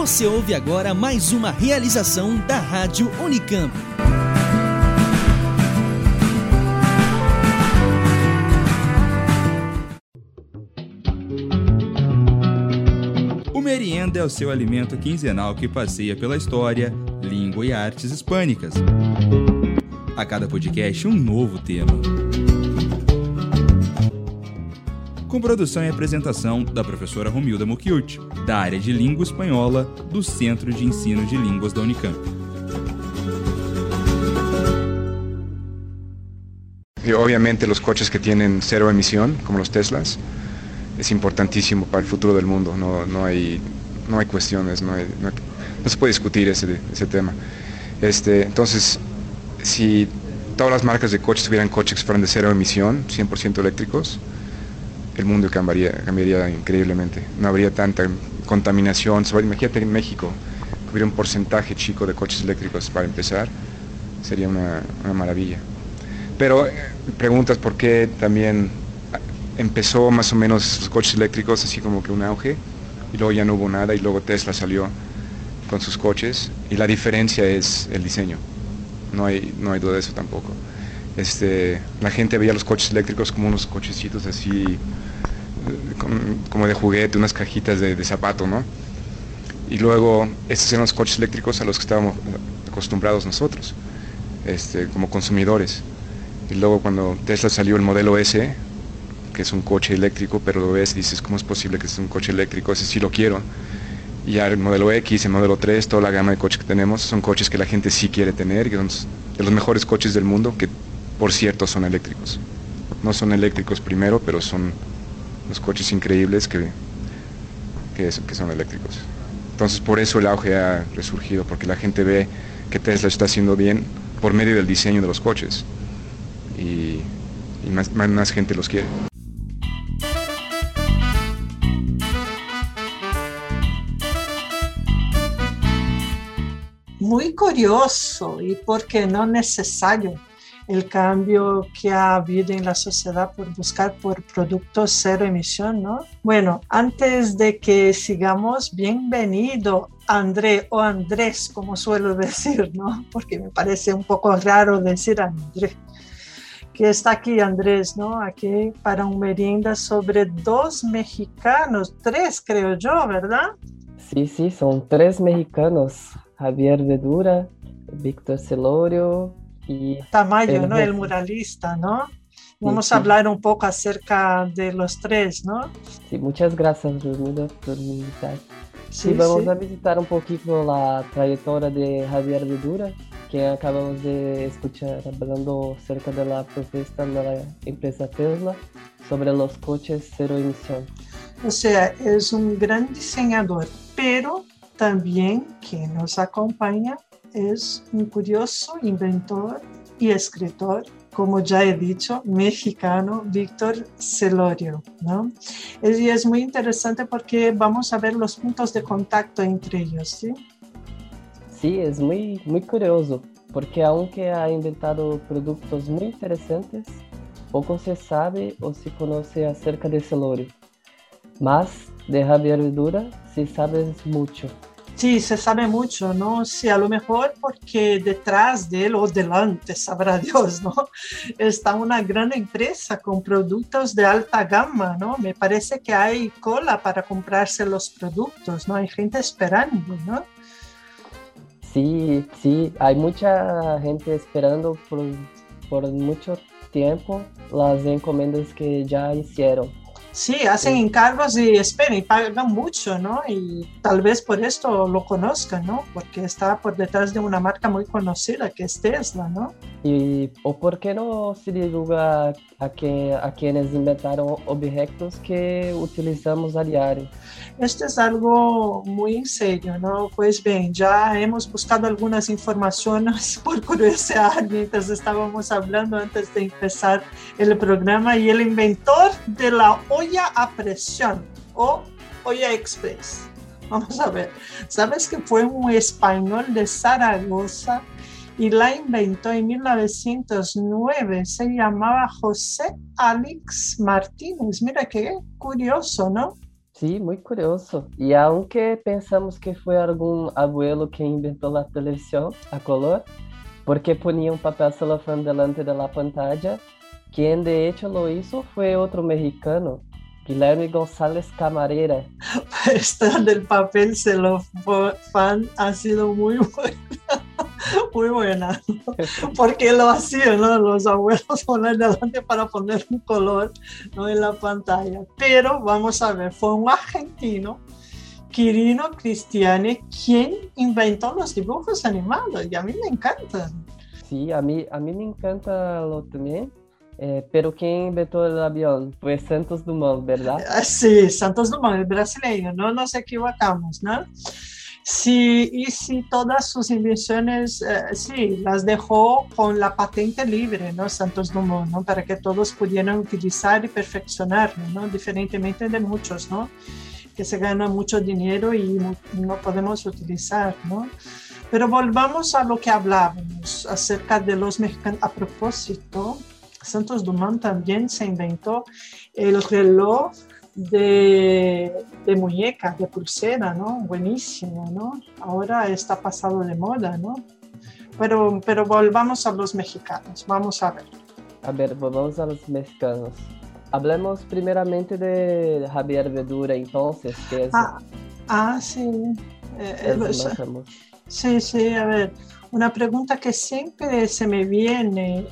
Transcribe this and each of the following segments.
Você ouve agora mais uma realização da Rádio Unicamp. O Merienda é o seu alimento quinzenal que passeia pela história, língua e artes hispânicas. A cada podcast, um novo tema. Com produção e apresentação da professora Romilda Mucchiuti, da área de Língua Espanhola do Centro de Ensino de Línguas da Unicamp. Y obviamente los coches que tienen cero emisión, como los Teslas, es importantísimo para el futuro del mundo. No hay cuestiones, no se puede discutir ese tema. Entonces, si todas las marcas de coches tuvieran coches que fueran de cero emisión, 100% eléctricos, el mundo cambiaría increíblemente. No habría tanta contaminación. Imagínate en México, que hubiera un porcentaje chico de coches eléctricos para empezar, sería una maravilla. Pero preguntas por qué también empezó más o menos los coches eléctricos así como que un auge, y luego ya no hubo nada, y luego Tesla salió con sus coches, y la diferencia es el diseño. No hay duda de eso tampoco. La gente veía los coches eléctricos como unos cochecitos así, como de juguete, unas cajitas de zapato, ¿no? Y luego, estos eran los coches eléctricos a los que estábamos acostumbrados nosotros, como consumidores. Y luego cuando Tesla salió el modelo S, que es un coche eléctrico, pero lo ves y dices, ¿cómo es posible que sea un coche eléctrico? Ese sí lo quiero. Y ya el modelo X, el modelo 3, toda la gama de coches que tenemos, son coches que la gente sí quiere tener, que son de los mejores coches del mundo, que por cierto son eléctricos. No son eléctricos primero, pero son los coches increíbles que son eléctricos. Entonces por eso el auge ha resurgido, porque la gente ve que Tesla está haciendo bien por medio del diseño de los coches, y más gente los quiere. Muy curioso y, ¿por qué no necesario, el cambio que ha habido en la sociedad por buscar por productos cero emisión, ¿no? Bueno, antes de que sigamos, bienvenido André o Andrés, como suelo decir, ¿no? Porque me parece un poco raro decir André. Que está aquí Andrés, ¿no? Aquí para un merienda sobre 2 mexicanos, 3 creo yo, ¿verdad? Sí, son 3 mexicanos, Javier Vedura, Víctor Celorio y... Tamayo, ¿no? El muralista, ¿no? Vamos a hablar un poco acerca de los 3, ¿no? Sí, muchas gracias, Romilda, por mi invitar. Sí, vamos a visitar un poquito la trayectoria de Javier Vedura, que acabamos de escuchar hablando acerca de la propuesta de la empresa Tesla sobre los coches cero emisión. O sea, es un gran diseñador, pero también quien nos acompaña es un curioso inventor y escritor, como ya he dicho, mexicano, Víctor Celorio, ¿no? Y es muy interesante porque vamos a ver los puntos de contacto entre ellos, ¿sí? Sí, es muy curioso, porque aunque ha inventado productos muy interesantes, poco se sabe o se conoce acerca de Celorio. Más de Javier Vedura se sabe mucho. Sí, se sabe mucho, ¿no? Sí, a lo mejor porque detrás de él o delante, sabrá Dios, ¿no? Está una gran empresa con productos de alta gama, ¿no? Me parece que hay cola para comprarse los productos, ¿no? Hay gente esperando, ¿no? Sí, hay mucha gente esperando por mucho tiempo las encomiendas que ya hicieron. Sí, hacen encargos y esperen, y pagan mucho, ¿no? Y tal vez por esto lo conozcan, ¿no? Porque está por detrás de una marca muy conocida que es Tesla, ¿no? ¿O por qué no se divulga a quienes inventaron objetos que utilizamos a diario? Esto es algo muy serio, ¿no? Pues bien, ya hemos buscado algunas informaciones por curiosidad mientras estábamos hablando antes de empezar el programa, y el inventor de la olla a presión o olla express. Vamos a ver, ¿sabes que fue un español de Zaragoza y la inventó en 1909? Se llamaba José Alex Martínez. Mira qué curioso, ¿no? Sí, muy curioso. Y aunque pensamos que fue algún abuelo que inventó la televisión a color, porque ponía un papel celofán delante de la pantalla, quien de hecho lo hizo fue otro mexicano, Guillermo González Camarera. Esta del papel celofán ha sido muy buena, muy buena, porque lo hacían, ¿no? Los abuelos poner delante para poner un color, ¿no? En la pantalla. Pero vamos a ver, fue un argentino, Quirino Cristiani, quien inventó los dibujos animados y a mí me encantan. Sí, a mí me encanta lo también, pero quien inventó el avión fue Santos Dumont, ¿verdad? Sí, Santos Dumont, el brasileño, no nos equivocamos, ¿no? Sí, y sí, todas sus invenciones, sí, las dejó con la patente libre, ¿no? Santos Dumont, ¿no? Para que todos pudieran utilizar y perfeccionarlo, ¿no? Diferentemente de muchos, ¿no? Que se gana mucho dinero y no podemos utilizar, ¿no? Pero volvamos a lo que hablábamos acerca de los mexicanos. A propósito, Santos Dumont también se inventó el reloj de muñeca, de pulsera, ¿no? Buenísimo, ¿no? Ahora está pasado de moda, ¿no? Pero volvamos a los mexicanos, vamos a ver. A ver, volvamos a los mexicanos. Hablemos primeramente de Javier Vedura, entonces, que es, Sí. es más famoso. Sí, a ver, una pregunta que siempre se me viene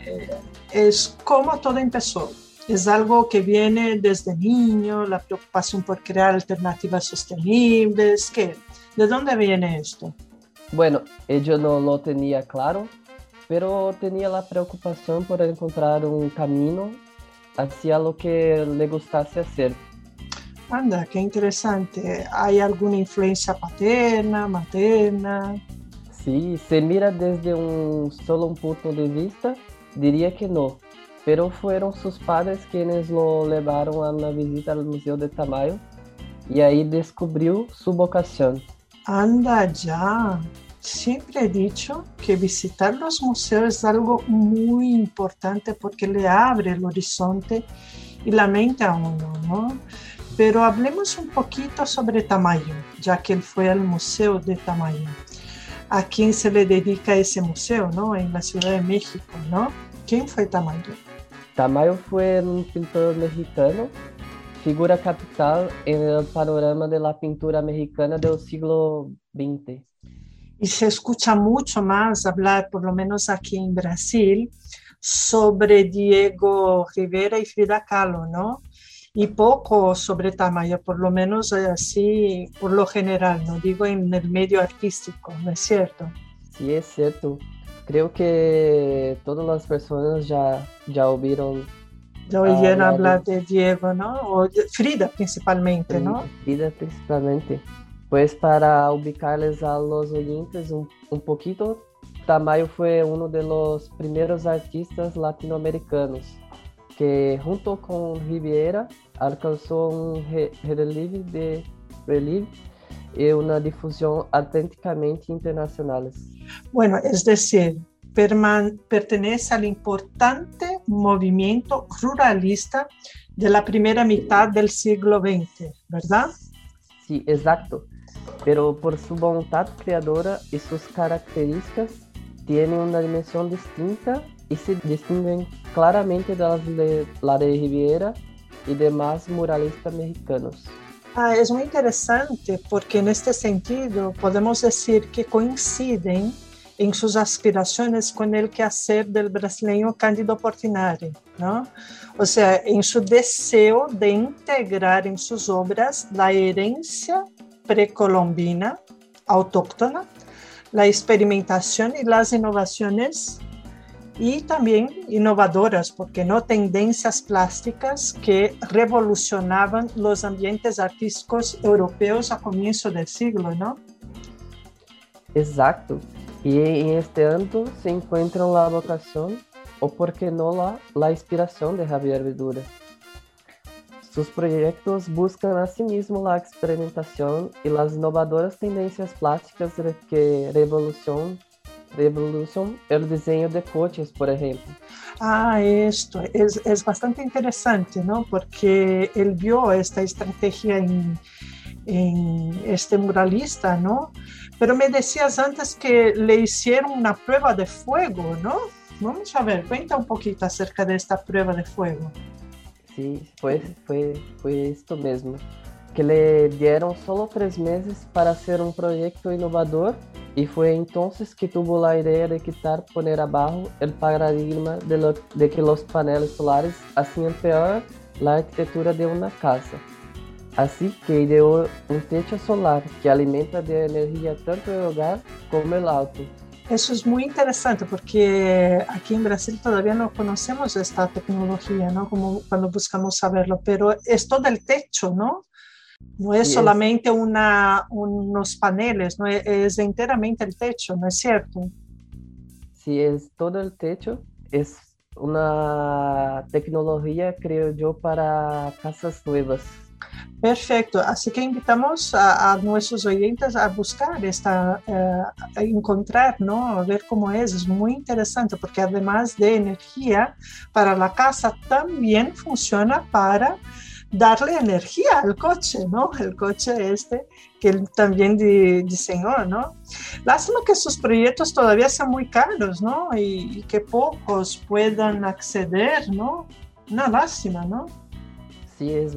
es cómo todo empezó. ¿Es algo que viene desde niño, la preocupación por crear alternativas sostenibles? ¿Qué? ¿De dónde viene esto? Bueno, yo no lo tenía claro, pero tenía la preocupación por encontrar un camino hacia lo que le gustase hacer. Anda, qué interesante. ¿Hay alguna influencia paterna, materna? Sí, se mira desde solo un punto de vista, diría que no, pero fueron sus padres quienes lo llevaron a una visita al Museo de Tamayo y ahí descubrió su vocación. Anda ya. Siempre he dicho que visitar los museos es algo muy importante porque le abre el horizonte y la mente a uno, ¿no? Pero hablemos un poquito sobre Tamayo, ya que él fue al Museo de Tamayo. ¿A quién se le dedica ese museo, no? En la Ciudad de México, ¿no? ¿Quién fue Tamayo? Tamayo fue un pintor mexicano, figura capital en el panorama de la pintura mexicana del siglo XX. Y se escucha mucho más hablar, por lo menos aquí en Brasil, sobre Diego Rivera y Frida Kahlo, ¿no? Y poco sobre Tamayo, por lo menos así, por lo general, no digo en el medio artístico, ¿no es cierto? Sí, es cierto. Creo que todas las personas ya oyeron hablar de Diego, ¿no? O de Frida principalmente, ¿no? Frida principalmente. Pues para ubicarles a los oyentes un poquito, Tamayo fue uno de los primeros artistas latinoamericanos que junto con Rivera alcanzó un relieve y una difusión auténticamente internacionales. Bueno, es decir, pertenece al importante movimiento ruralista de la primera mitad del siglo XX, ¿verdad? Sí, exacto. Pero por su voluntad creadora y sus características, tiene una dimensión distinta y se distinguen claramente de la de Rivera y demás muralistas mexicanos. Es muy interesante porque en este sentido podemos decir que coinciden en sus aspiraciones con el quehacer del brasileño Cândido Portinari, ¿no? O sea, en su deseo de integrar en sus obras la herencia precolombina, autóctona, la experimentación y las innovaciones y también innovadoras, porque no tendencias plásticas que revolucionaban los ambientes artísticos europeos a comienzo del siglo, ¿no? Exacto. Y en este ámbito se encuentra la vocación, o por qué no la inspiración de Javier Vedura. Sus proyectos buscan asimismo la experimentación y las innovadoras tendencias plásticas que revolucionan revolución el diseño de coches, por ejemplo. Esto es bastante interesante, ¿no? Porque él vio esta estrategia en este muralista, ¿no? Pero me decías antes que le hicieron una prueba de fuego, ¿no? Vamos a ver, cuenta un poquito acerca de esta prueba de fuego. Sí, fue esto mismo, que le dieron solo 3 meses para hacer un proyecto innovador y fue entonces que tuvo la idea de poner abajo el paradigma de que los paneles solares hacían peor la arquitectura de una casa. Así que ideó un techo solar que alimenta de energía tanto el hogar como el auto. Eso es muy interesante porque aquí en Brasil todavía no conocemos esta tecnología, ¿no? Como cuando buscamos saberlo, pero es todo el techo, ¿no? No es solamente unos paneles, ¿no? Es enteramente el techo, ¿no es cierto? Sí, es todo el techo. Es una tecnología, creo yo, para casas nuevas. Perfecto, así que invitamos a nuestros oyentes a buscar a encontrar, ¿no? A ver cómo es muy interesante porque además de energía para la casa también funciona para darle energía al coche, ¿no? El coche que él también diseñó, ¿no? Lástima que sus proyectos todavía son muy caros, ¿no? Y que pocos puedan acceder, ¿no? Una lástima, ¿no? Sí, es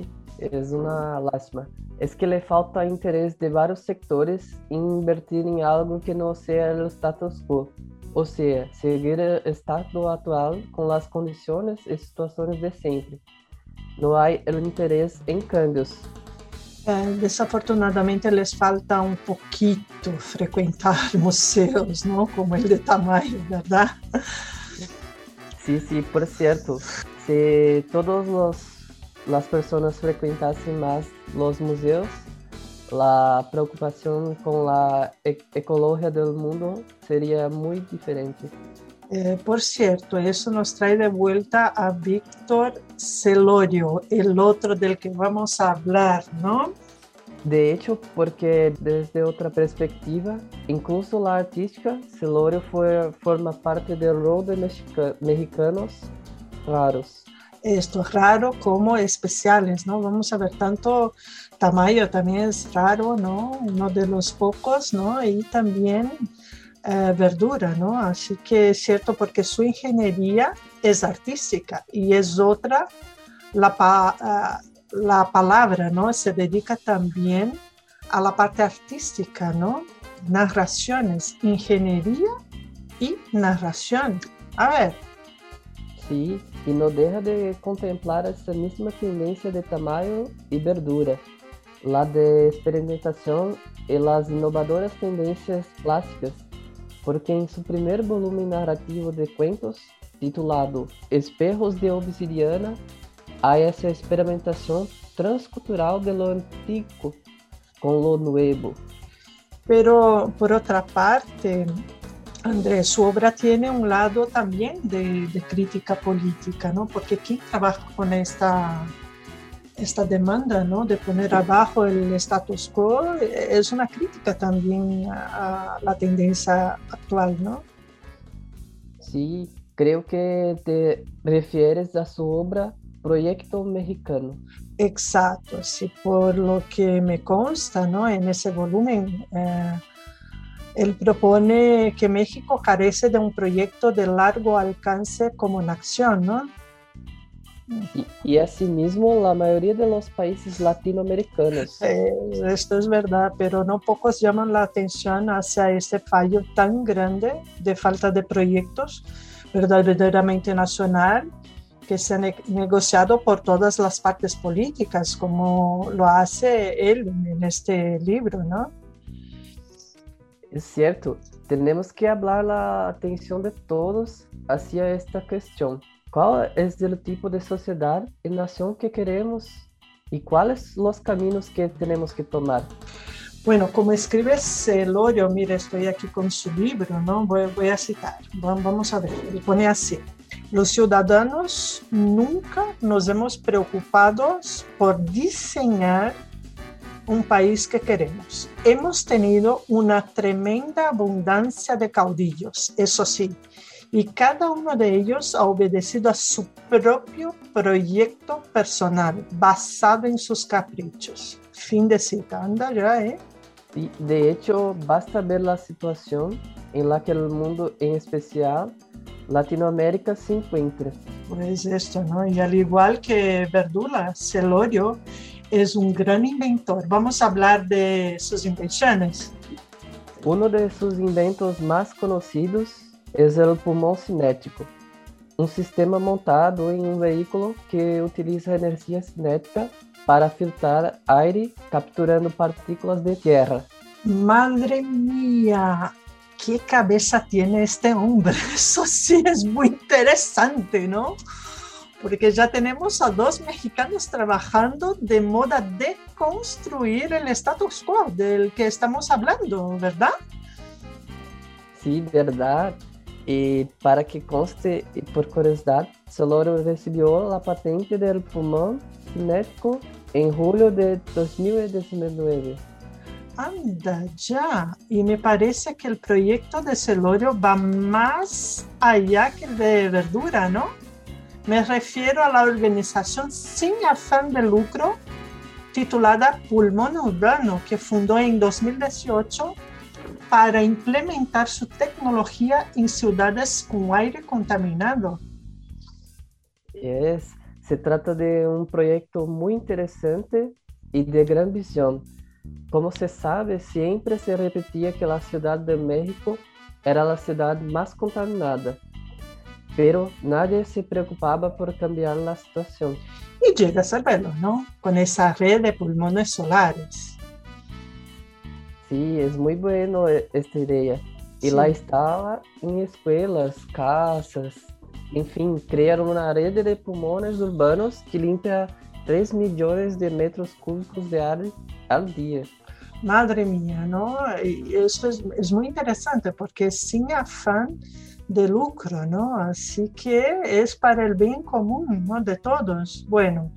una lástima. Es que le falta interés de varios sectores en invertir en algo que no sea el status quo. O sea, seguir el estado actual con las condiciones y situaciones de siempre. No hay el interés en cambios. Desafortunadamente les falta un poquito frecuentar museos, ¿no? Como el de Tamayo, ¿verdad? Sí, por cierto. Si las personas frecuentasen más los museos, la preocupación con la ecología del mundo sería muy diferente. Por cierto, eso nos trae de vuelta a Víctor Celorio, el otro del que vamos a hablar, ¿no? De hecho, porque desde otra perspectiva, incluso la artística, Celorio forma parte del rol de mexicanos raros. Esto es raro como especiales, ¿no? Vamos a ver, tanto Tamayo también es raro, ¿no? Uno de los pocos, ¿no? Y también Verdura, ¿no? Así que es cierto porque su ingeniería es artística y es otra, la palabra, ¿no? Se dedica también a la parte artística, ¿no? Narraciones, ingeniería y narración. A ver. Sí, y no deja de contemplar esa misma tendencia de Tamayo y Verdura, la de experimentación y las innovadoras tendencias clásicas, porque en su primer volumen narrativo de cuentos, titulado Espejos de Obsidiana, hay esa experimentación transcultural de lo antiguo con lo nuevo. Pero, por otra parte, Andrés, su obra tiene un lado también de crítica política, ¿no? Porque ¿quién trabaja con esta demanda, ¿no? De poner abajo el status quo? Es una crítica también a la tendencia actual, ¿no? Sí, creo que te refieres a su obra Proyecto Mexicano. Exacto, sí, por lo que me consta, ¿no? En ese volumen, él propone que México carece de un proyecto de largo alcance como nación, ¿no? Y asimismo la mayoría de los países latinoamericanos. Esto es verdad, pero no pocos llaman la atención hacia este fallo tan grande de falta de proyectos verdaderamente nacional que se han negociado por todas las partes políticas, como lo hace él en este libro, ¿no? Es cierto, tenemos que hablar la atención de todos hacia esta cuestión. ¿Cuál es el tipo de sociedad y nación que queremos y cuáles los caminos que tenemos que tomar? Bueno, como escribe Celorio, mira, estoy aquí con su libro, ¿no? Voy a citar, vamos a ver, él pone así: los ciudadanos nunca nos hemos preocupado por diseñar un país que queremos. Hemos tenido una tremenda abundancia de caudillos, eso sí, y cada uno de ellos ha obedecido a su propio proyecto personal, basado en sus caprichos. Fin de cita. Anda ya, ¿eh? Sí, de hecho, basta ver la situación en la que el mundo, en especial Latinoamérica, se encuentra. Pues esto, ¿no? Y al igual que Verdula, Celorio es un gran inventor. Vamos a hablar de sus invenciones. Uno de sus inventos más conocidos es el pulmón cinético, un sistema montado en un vehículo que utiliza energía cinética para filtrar aire capturando partículas de tierra. Madre mía, qué cabeza tiene este hombre. Eso sí es muy interesante, ¿no? Porque ya tenemos a 2 mexicanos trabajando de modo a deconstruir el status quo del que estamos hablando, ¿verdad? Sí, verdad. Y para que conste, y por curiosidad, Celorio recibió la patente del pulmón cinético en julio de 2019. Anda ya, y me parece que el proyecto de Celorio va más allá que el de Verdura, ¿no? Me refiero a la organización sin afán de lucro titulada Pulmón Urbano, que fundó en 2018 para implementar su tecnología en ciudades con aire contaminado. Se trata de un proyecto muy interesante y de gran visión. Como se sabe, siempre se repetía que la Ciudad de México era la ciudad más contaminada, pero nadie se preocupaba por cambiar la situación. Y llega a saberlo, ¿no? Con esa red de pulmones solares. Sí, es muy bueno esta idea. Y Sí. la instala en escuelas, casas, en fin, crear una red de pulmones urbanos que limpia 3 millones de metros cúbicos de aire al día. Madre mía, ¿no? Y eso es muy interesante porque es sin afán de lucro, ¿no? Así que es para el bien común, ¿no? De todos. Bueno,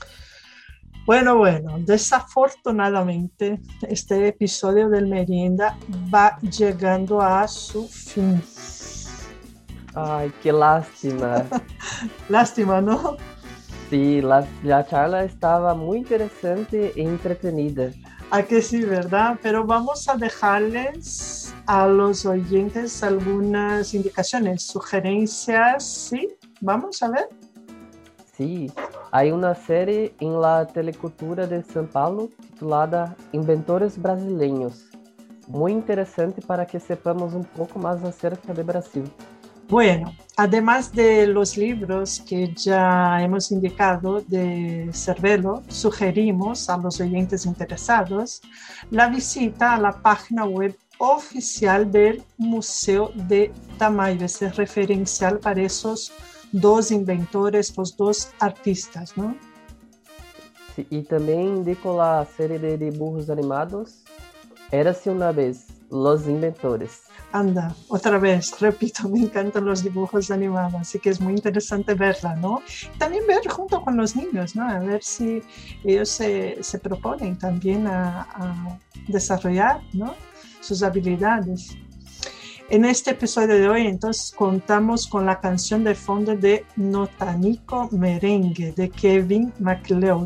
desafortunadamente este episodio del Merienda va llegando a su fin. Ay, qué lástima. Lástima, ¿no? Sí, la charla estaba muy interesante e entretenida. A que sí, ¿verdad? Pero vamos a dejarles a los oyentes algunas indicaciones, sugerencias, ¿sí? Vamos a ver. Sí, hay una serie en la Telecultura de São Paulo titulada Inventores Brasileños. Muy interesante para que sepamos un poco más acerca de Brasil. Bueno, además de los libros que ya hemos indicado de Cervelo, sugerimos a los oyentes interesados la visita a la página web oficial del Museo de Tamayo, ese referencial para esos 2 inventores, los 2 artistas, ¿no? Sí, y también indico la serie de dibujos animados Érase una vez, Los Inventores. Anda, otra vez, repito, me encantan los dibujos animados, así que es muy interesante verla, ¿no? También ver junto con los niños, ¿no? A ver si ellos se proponen también a desarrollar, ¿no? Sus habilidades. En este episodio de hoy, entonces, contamos con la canción de fondo de Notanico Merengue, de Kevin MacLeod.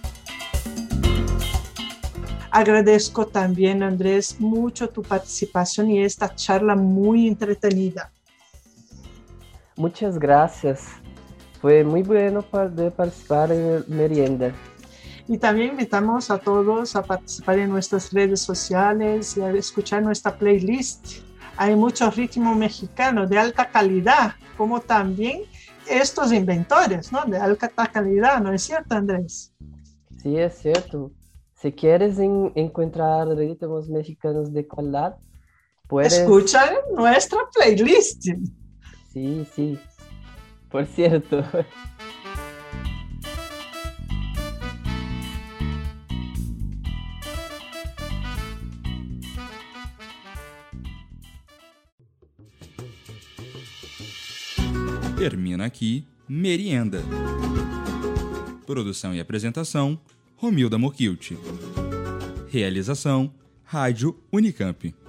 Agradezco también, Andrés, mucho tu participación y esta charla muy entretenida. Muchas gracias. Fue muy bueno poder participar en el Merienda. Y también invitamos a todos a participar en nuestras redes sociales y a escuchar nuestra playlist. Hay mucho ritmo mexicano de alta calidad, como también estos inventores, ¿no? De alta calidad, ¿no es cierto, Andrés? Sí, es cierto. Si quieres encontrar ritmos mexicanos de calidad, puedes... Escucha nuestra playlist. Sí, sí. Por cierto. Termina aqui Merienda. Produção e apresentação, Romilda Morquilt. Realização: Rádio Unicamp.